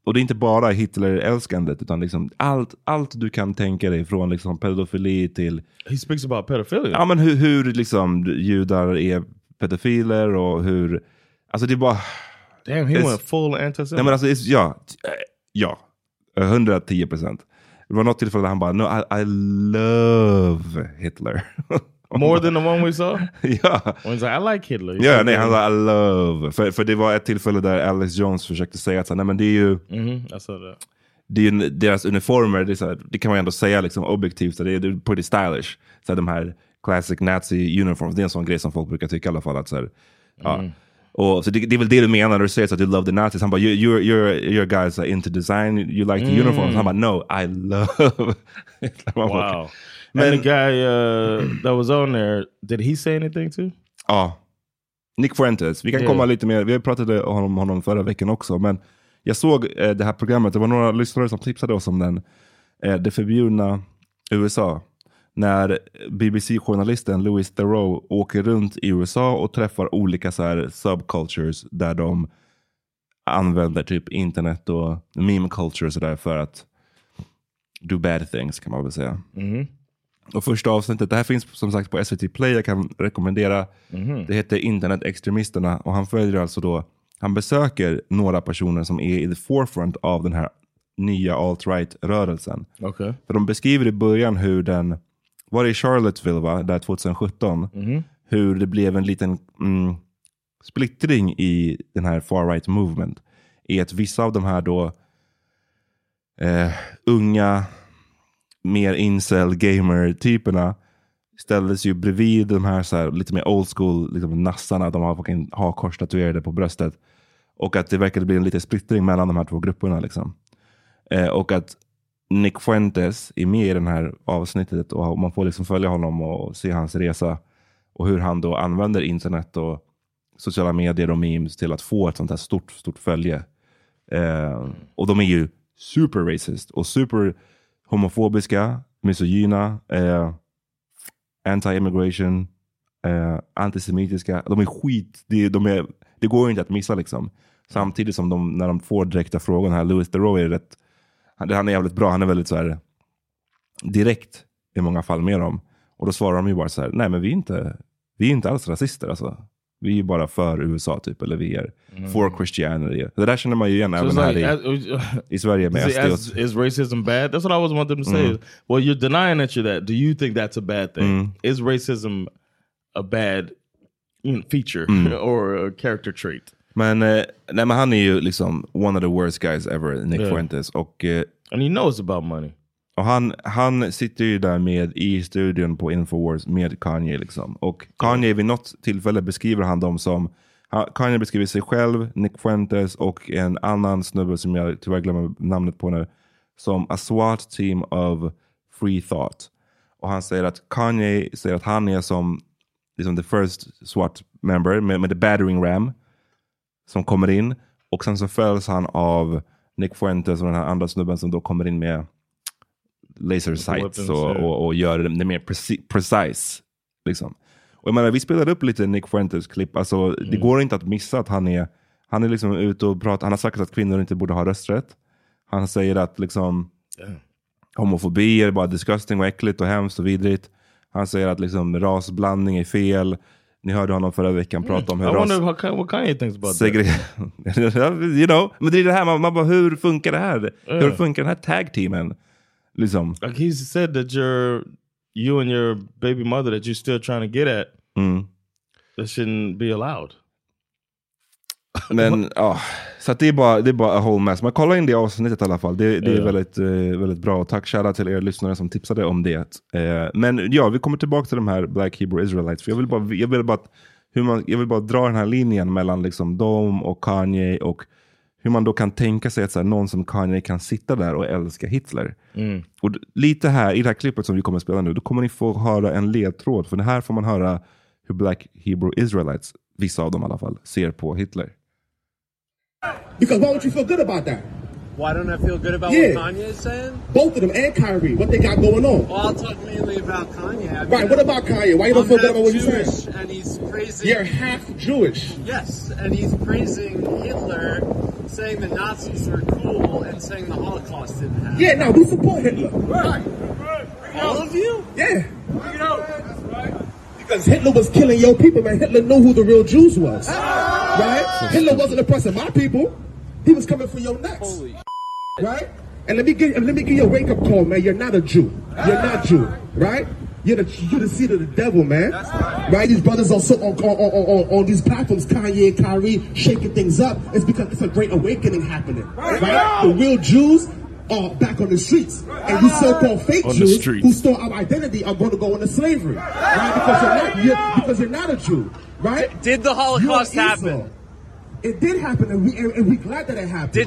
och det är inte bara Hitler-älskandet, utan liksom allt du kan tänka dig, från liksom pedofili till... He speaks about pedophilia. Ja, men hur liksom judar är pedofiler och hur... Alltså det är bara... Damn, he went full anti-Semite. Nej, men alltså, ja, 110%. Det var något tillfälle där han bara, no, I love Hitler. More than the one we saw? Ja. When he's like, I like Hitler. Ja, nej, han sa I love. För det var ett tillfälle där Alex Jones försökte säga att nej, men det är ju... I saw that. Det är ju deras uniformer, det, är så här, det kan man ändå säga liksom objektivt, så det är pretty stylish. Så här, de här classic Nazi uniforms, det är en sån grej som folk brukar tycka i alla fall. Att, så här, ja. Och, så det är väl det du menar när du säger så att du love the Nazis. Han bara, you're guys into design, you like the uniforms. Han bara, no, I love. Wow. And the guy that was on there, did he say anything too? Ja. Nick Fuentes. Vi kan komma lite mer. Vi pratade om honom förra veckan också. Men jag såg det här programmet. Det var några lyssnare som tipsade oss om den. Det förbjudna USA. När BBC-journalisten Louis Theroux åker runt i USA och träffar olika så här subcultures där de använder typ internet och meme culture och sådär för att do bad things, kan man väl säga. Och första avsnittet, det här finns som sagt på SVT Play, jag kan rekommendera. Det heter Internetextremisterna, och han följer alltså då, han besöker några personer som är i the forefront av den här nya alt-right-rörelsen. Okay. För de beskriver i början hur den var det i Charlottesville, va? Där 2017. Hur det blev en liten splittring i den här far-right movement. I att vissa av de här då unga, mer incel gamer-typerna ställdes ju bredvid de här, så här lite mer old school liksom nassarna. De har kors tatuerade på bröstet. Och att det verkade bli en liten splittring mellan de här två grupperna liksom. Och att Nick Fuentes är med i den här avsnittet, och man får liksom följa honom och se hans resa och hur han då använder internet och sociala medier och memes till att få ett sånt här stort följe. Och de är ju super racist och super homofobiska, misogyna, anti-immigration, antisemitiska. De är skit, det går ju inte att missa liksom. Samtidigt som när de får direkta frågor, här Louis Theroux är rätt, han är jävligt bra, han är väldigt så här direkt i många fall med dem. Och då svarar de ju bara så här, nej men vi är inte alls rasister alltså. Vi är ju bara för USA typ, eller vi är for Christianity. Det där känner man ju igen även här i Sverige med SD. Is racism bad? That's what I always want them to say. Well, you're denying that you're that. Do you think that's a bad thing? Is racism a bad feature or a character trait? Men, nej, men han är ju liksom one of the worst guys ever, Nick Fuentes. Och, and he knows about money. Och han sitter ju där med i studion på Infowars med Kanye liksom. Och Kanye vid något tillfälle beskriver han dem som, Kanye beskriver sig själv, Nick Fuentes och en annan snubbe som jag tyvärr glömmer namnet på nu, som a SWAT team of free thought. Och han säger att Kanye säger att han är som liksom the first SWAT member med the battering ram som kommer in, och sen så följs han av Nick Fuentes och den här andra snubben som då kommer in med laser sights och gör det mer precise liksom. Och jag menar, vi spelade upp lite Nick Fuentes klipp, alltså det går inte att missa att han är liksom ute och pratar. Han har sagt att kvinnor inte borde ha rösträtt. Han säger att liksom homofobi är bara disgusting och äckligt och hemskt och vidrigt. Han säger att liksom rasblandning är fel. Ni hörde honom förra veckan prata om hur what Kanye thinks about that. You know, men det är det här, man bara, hur funkar det här? Hur funkar den här tag-teamen? Liksom. Like he said that you and your baby mother that you're still trying to get at, that shouldn't be allowed. Men så att det är bara a whole mess. Man kollar in det avsnittet i alla fall. Det är väldigt, väldigt bra. Tack shoutout till er lyssnare som tipsade om det. Men ja, vi kommer tillbaka till de här Black Hebrew Israelites. För jag vill bara dra den här linjen mellan liksom dem och Kanye, och hur man då kan tänka sig att så här, någon som Kanye kan sitta där och älska Hitler. Och lite här i det här klippet som vi kommer att spela nu, då kommer ni få höra en ledtråd. För det här får man höra hur Black Hebrew Israelites, vissa av dem i alla fall, ser på Hitler. Because why would you feel good about that? Why don't I feel good about what Kanye is saying? Both of them and Kyrie, what they got going on. Well, I'll talk mainly about Kanye. I mean, right, what about Kanye? Why you don't feel good about what he's saying? And he's praising... You're half Jewish. Yes, and he's praising Hitler, saying the Nazis are cool and saying the Holocaust didn't happen. Yeah, now we support Hitler. Right. All of you? Yeah. Bring it out. That's right. Because Hitler was killing your people, man. Hitler knew who the real Jews was. Right? Hitler wasn't oppressing my people. He was coming for your necks. Holy right? And let me give you a wake up call, man. You're not a Jew. You're not Jew, right? You're the seed of the devil, man. Right? These brothers are so on these platforms, Kanye and Kyrie, shaking things up. It's because it's a great awakening happening, right? The real Jews are back on the streets, and you so-called fake Jews who stole our identity are going to go into slavery, right? Because you're not a Jew, right? Did the Holocaust happen? It did happen, and we're glad that it happened.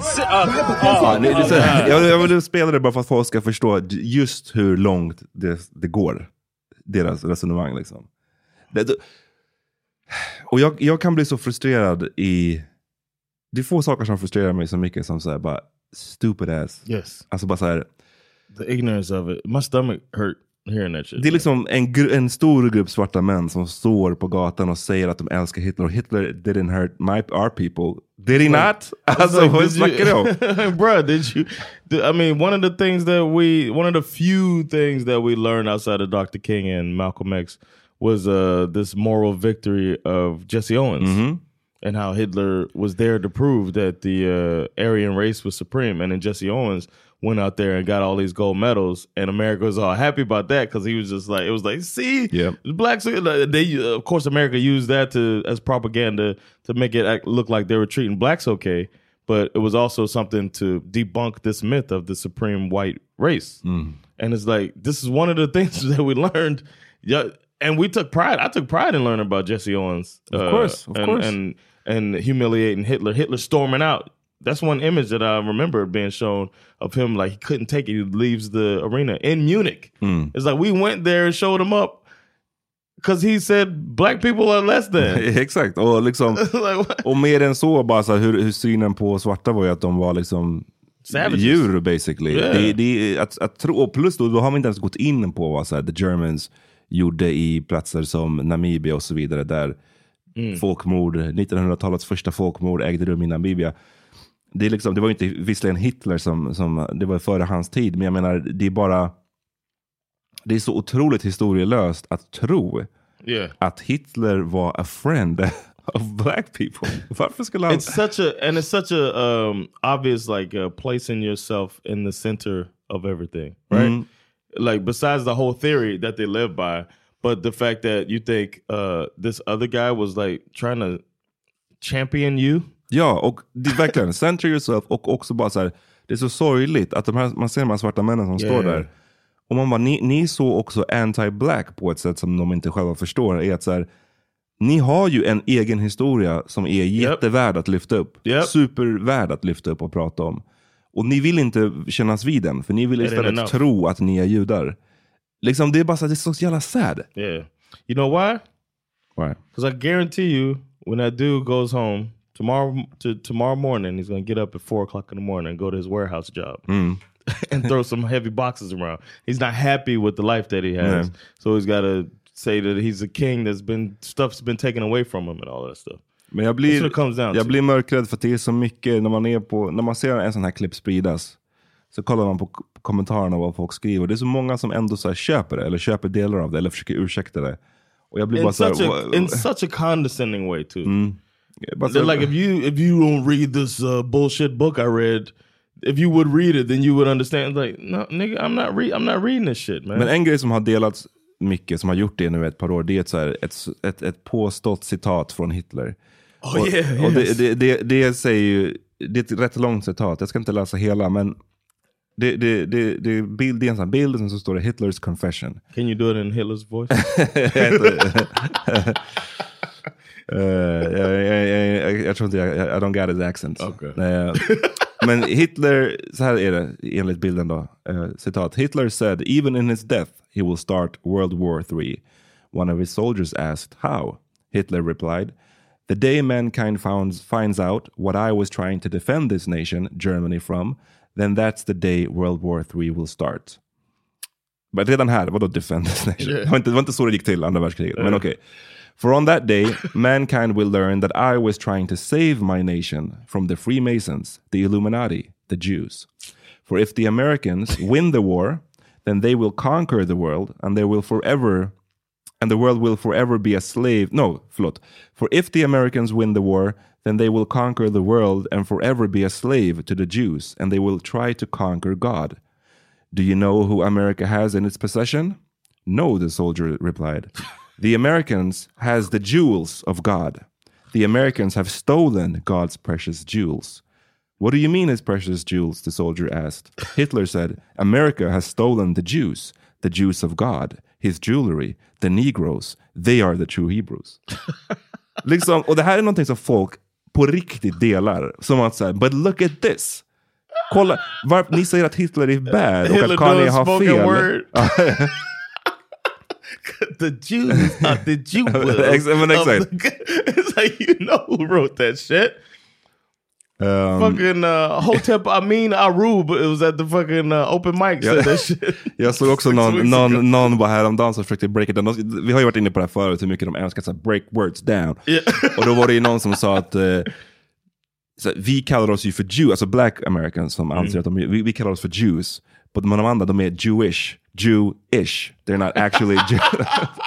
Jag vill spela det bara för att folk ska förstå just hur långt det går. Deras resonemang liksom. Och jag kan bli så frustrerad det är få saker som frustrerar mig så mycket som så här, bara stupid ass. Yes. Alltså bara så här, the ignorance of it. My stomach hurt hearing that shit. Det är liksom en stor grupp svarta män som står på gatan och säger att de älskar Hitler. Och Hitler didn't hurt our people. Did he not? Alltså, vad snackar du om? Bro, I mean, one of the few things that we learned outside of Dr. King and Malcolm X was this moral victory of Jesse Owens. Mm-hmm. And how Hitler was there to prove that the Aryan race was supreme. And then Jesse Owens went out there and got all these gold medals. And America was all happy about that because he was just like, it was like, see, the blacks, of course, America used that as propaganda to make it look like they were treating blacks okay. But it was also something to debunk this myth of the supreme white race. Mm. And it's like, this is one of the things that we learned. Yeah, and we took pride. I took pride in learning about Jesse Owens. Of course. And humiliating Hitler storming out. That's one image that I remember being shown of him, like he couldn't take it. He leaves the arena in Munich. Mm. It's like we went there and showed him up because he said black people are less than. Exakt. Och liksom och mer än så bara så hur synen på svarta var ju att de var liksom savages. Djur basically. Yeah. Det att tro, och plus då har vi inte ens gått in på vad så här, the Germans gjorde i platser som Namibia och så vidare där folkmord, 1900-talets första folkmord ägde rum i Namibia. Det är liksom, det var ju inte visserligen Hitler som det var före hans tid, men jag menar det är så otroligt historielöst att tro att Hitler var a friend of black people. Varför skulle han... It's such a obvious like placing yourself in the center of everything, right? Mm. Like besides the whole theory that they live by, but the fact that you think this other guy was like trying to champion you. Ja, och det är verkligen center yourself, och också bara så här, det är så sorgligt att man ser de här svarta männen som står där. Och man bara, ni så också anti-black på ett sätt som de inte själva förstår, är att så här, ni har ju en egen historia som är jättevärd att lyfta upp. Supervärd att lyfta upp och prata om. Och ni vill inte kännas vid den, för ni vill istället tro att ni är judar. Liksom, det är bara så, det är så jävla sad. Yeah. You know why? Why? Because I guarantee you, when that dude goes home tomorrow morning, he's going to get up at 4 o'clock in the morning and go to his warehouse job and throw some heavy boxes around. He's not happy with the life that he has. So he's got to say that he's a king stuff's been taken away from him and all that stuff. Men jag blir mörkrädd för att det är så mycket när man ser en sån här klipp spridas, så kollar man på kommentarerna vad folk skriver. Det är så många som ändå så här köper det, eller köper delar av det, eller försöker ursäkta det. Och jag blir bara så här, in such a condescending way too. Like if you don't read this bullshit book I read, if you would read it, then you would understand. Like, no, nigga, I'm not reading this shit, man. Men en grej som har delats mycket, som har gjort det nu ett par år, det är så här, ett påstått citat från Hitler. Och det säger ju, det är ett rätt långt citat. Jag ska inte läsa hela, men det är en sån bild som så står det Hitler's confession. Can you do it in Hitler's voice? Jag tror inte I don't get his accent. Okay. Men Hitler, så här är det enligt bilden då, citat: Hitler said even in his death he will start World War III. One of his soldiers asked how. Hitler replied, the day mankind finds out what I was trying to defend this nation, Germany, from, then that's the day World War III will start. Men redan här, vadå defend this nation? Det var inte så det gick till andra världskriget, men okej. For on that day, mankind will learn that I was trying to save my nation from the Freemasons, the Illuminati, the Jews. For if the Americans win the war, then they will conquer the world, and the world will forever be a slave. For if the Americans win the war, then they will conquer the world and forever be a slave to the Jews, and they will try to conquer God. Do you know who America has in its possession? No, the soldier replied. The Americans has the jewels of God. The Americans have stolen God's precious jewels. What do you mean his precious jewels? The soldier asked. Hitler said, America has stolen the Jews of God, his jewelry, the Negroes. They are the true Hebrews. Liksom, och det här är någonting som folk på riktigt delar. Som att säga, but look at this. Kolla, ni säger att Hitler är bad och att Kanye har fel. The Jews are the Jewels. It's like, you know who wrote that shit. Fucking Hotep Amin Arub, it was at the fucking open mic said that shit. Jag såg också någon var häromdagen som försökte break it down. Vi har ju varit inne på det här förut, hur mycket de älskar att break words down. Och då var det ju någon som sa att så, vi kallar oss ju för Jew, alltså black Americans som anser att vi kallar oss för Jews. Men de andra, de är Jewish. They're not actually Jew.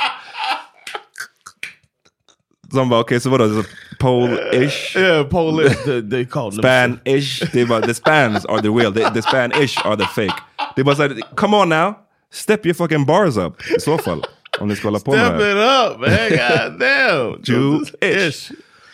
Som bara, okej, så vadå? Polish? Yeah, Polish. They call them Spanish. The Spans are the real. The Spanish are the fake. Det är bara såhär, come on now. Step your fucking bars up. I så fall. Om ni ska hålla på med Step it up, man. God damn. Jewish.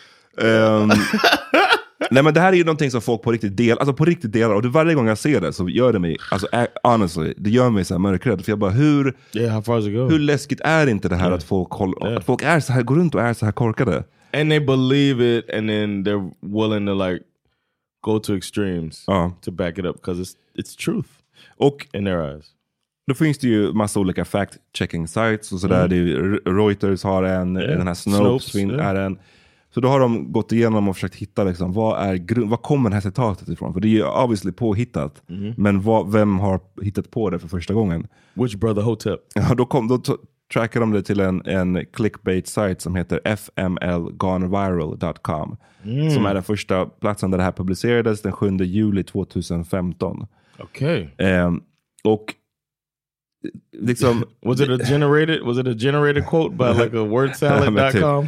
Nej, men det här är ju någonting som folk på riktigt delar, och varje gång jag ser det så gör det mig, alltså honestly, det gör mig så här mörkrädd, för jag bara, hur läskigt är inte det här att folk att folk är så här, går runt och är så här korkade, and they believe it, and then they're willing to like go to extremes to back it up because it's truth, och in their eyes. Då finns det ju massa olika fact-checking sites och sådär. Det är ju, Reuters har en, den här Snopes är en. Så då har de gått igenom och försökt hitta liksom, vad kommer det här citatet ifrån? För det är ju obviously påhittat. Men vem har hittat på det för första gången? Which brother Hotep? Ja, då trackar de det till en clickbait-site som heter fmlgoneviral.com. Som är den första platsen där det här publicerades den 7 juli 2015. Okej. Och liksom, was it a generated quote by like a wordsalad.com?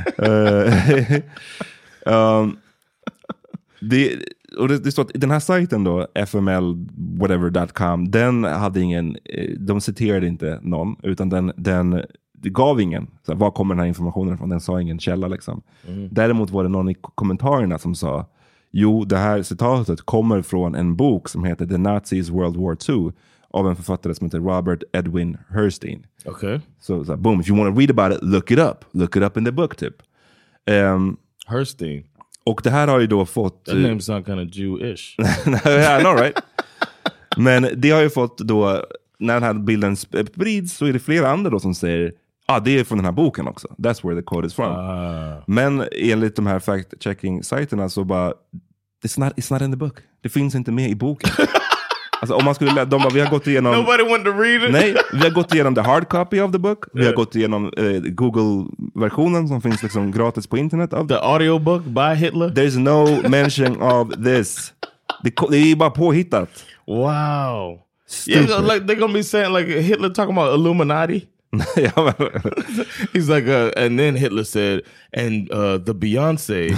det står att den här sajten då, fmlwhatever.com, den hade de citerade inte någon, utan den gav ingen. Så var kommer den här informationen från? Den sa ingen källa liksom. Däremot var det någon i kommentarerna som sa, jo, det här citatet kommer från en bok som heter The Nazis World War II av en författare som heter Robert Edwin Herstein. Okay. So boom, if you want to read about it, look it up in the book typ. Herstein. Och det här har ju då fått... That name sounds kind of Jewish. I know, right? Men det har ju fått då, när den här bilden sprids så är det flera andra då som säger, det är från den här boken också. That's where the quote is from. Men enligt de här fact-checking-sajterna så bara, it's not in the book. Det finns inte med i boken. Alltså om man skulle vi har gått igenom... Nobody wanted to read it. Nej, vi har gått igenom the hard copy of the book. Vi har gått igenom Google-versionen som finns liksom gratis på internet. The audiobook by Hitler. There's no mention of this. Det är bara påhittat. Wow. Stupid. Yeah, like they're gonna be saying like Hitler talking about Illuminati. He's like, and then Hitler said, and the Beyonce.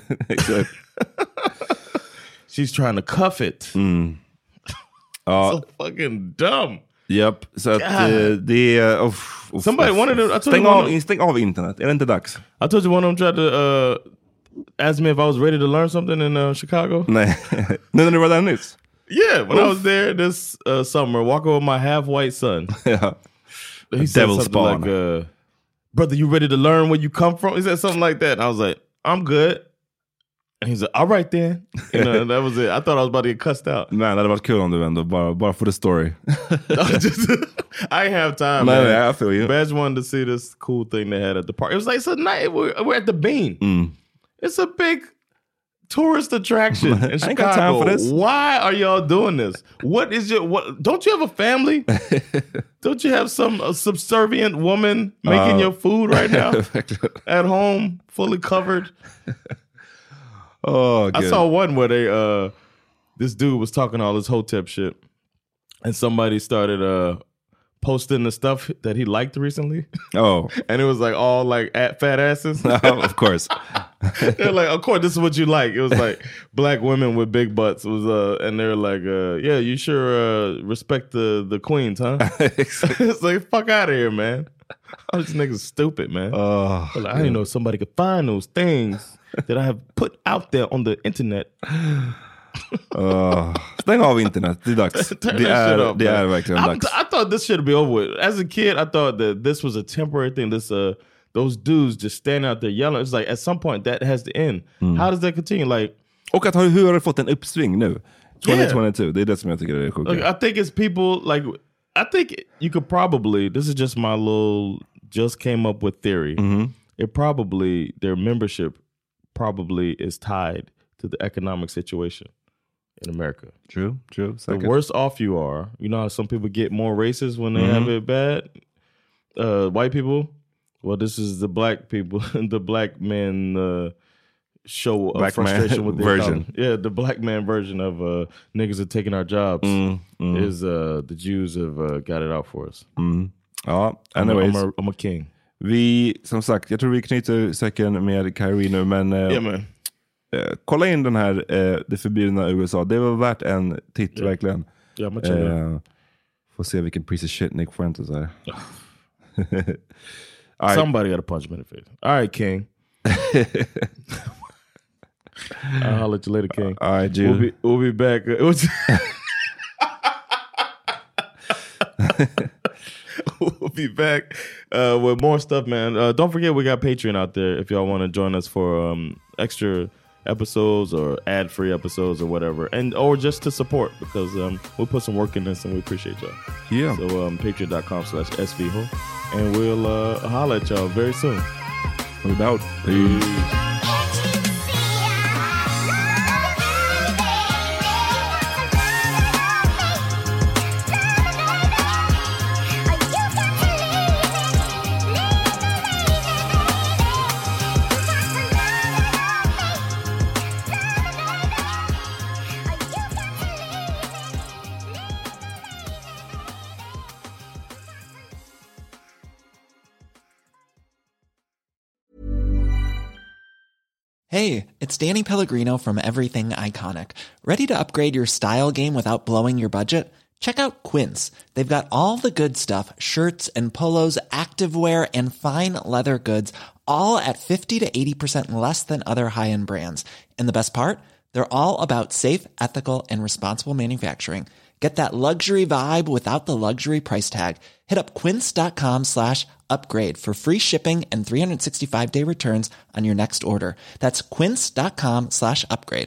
She's trying to cuff it. So fucking dumb. Yep. Så att det är... Somebody wanted to... Stäng av internet. Är det inte dags? I told you one of them tried to ask me if I was ready to learn something in Chicago. Nej. Nu när du var där nyss? Yeah, when I was there this summer, walking with my half-white son. Yeah. He said something like, brother, you ready to learn where you come from? He said something like that. And I was like, I'm good. And he's like, all right then. You know, that was it. I thought I was about to get cussed out. Nej, det hade varit kul om du ändå, bara for the story. I ain't have time, man. Man. I feel you. Badge wanted to see this cool thing they had at the park. It was like, it's a night, we're at the Bean. It's a big tourist attraction in Chicago. I ain't got time for this. Why are y'all doing this? Don't you have a family? Don't you have some subservient woman making your food right now? At home, fully covered? I saw one where they this dude was talking all this Hotep shit, and somebody started posting the stuff that he liked recently. Oh. And it was like all like fat asses. Of course. They're like, of course, this is what you like. It was like black women with big butts. It was and they're like, yeah, you sure respect the queens, huh? It's like, fuck out of here, man. All these niggas stupid, man. Like, I didn't know somebody could find those things that I have put out there on the internet. Stäng av internet, det är dags. Det är verkligen dags. I thought this should be over with. As a kid, I thought that this was a temporary thing. Those dudes just standing out there yelling. It's like at some point that has to end. How does that continue? Like, och att hur har det fått en uppsving nu? 2022, det är det som jag tycker är sjukt. Like, I think it's people like, I think you could probably, this is just my little just came up with theory. It probably, their membership probably is tied to the economic situation in America. True. The worse off you are, you know how some people get more racist when they have it bad? White people? Well, this is the black people, the black men show of black frustration with the version. Yeah, the black man version of niggas are taking our jobs is the Jews have got it out for us. Ja, anyways. I'm a king. Vi, som sagt, jag tror vi knyter säcken med Kyrie nu, men kolla in den här Det förbjudna USA. Det var värt en titt, verkligen. Ja, men får se vilken piece of shit Nick Fuentes är. Right. Somebody got to punch him in the face. All right, King. I'll holler at you later, King. All right, Jude. We'll be back. We'll be back with more stuff, man. Don't forget we got Patreon out there if y'all want to join us for extra episodes or ad-free episodes or whatever, and or just to support, because we'll put some work in this and we appreciate y'all. Yeah. So patreon.com/svho, and we'll holler at y'all very soon. No doubt. Peace. Hey, it's Danny Pellegrino from Everything Iconic. Ready to upgrade your style game without blowing your budget? Check out Quince. They've got all the good stuff, shirts and polos, activewear, and fine leather goods, all at 50 to 80% less than other high-end brands. And the best part? They're all about safe, ethical, and responsible manufacturing. Get that luxury vibe without the luxury price tag. Hit up quince.com/upgrade for free shipping and 365-day returns on your next order. That's quince.com/upgrade.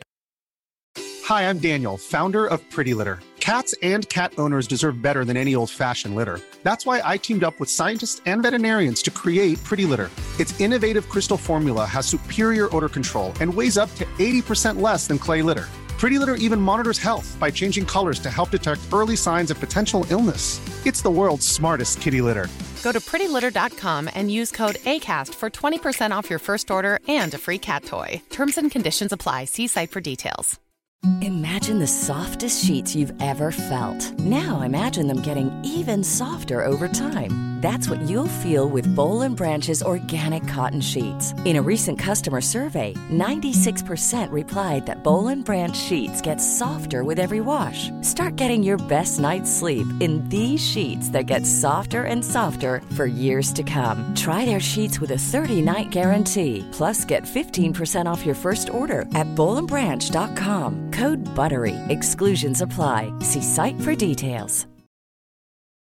Hi, I'm Daniel, founder of Pretty Litter. Cats and cat owners deserve better than any old-fashioned litter. That's why I teamed up with scientists and veterinarians to create Pretty Litter. Its innovative crystal formula has superior odor control and weighs up to 80% less than clay litter. Pretty Litter even monitors health by changing colors to help detect early signs of potential illness. It's the world's smartest kitty litter. Go to prettylitter.com and use code ACAST for 20% off your first order and a free cat toy. Terms and conditions apply. See site for details. Imagine the softest sheets you've ever felt. Now imagine them getting even softer over time. That's what you'll feel with Boll & Branch's organic cotton sheets. In a recent customer survey, 96% replied that Boll & Branch sheets get softer with every wash. Start getting your best night's sleep in these sheets that get softer and softer for years to come. Try their sheets with a 30-night guarantee. Plus, get 15% off your first order at bollandbranch.com. Code BUTTERY. Exclusions apply. See site for details.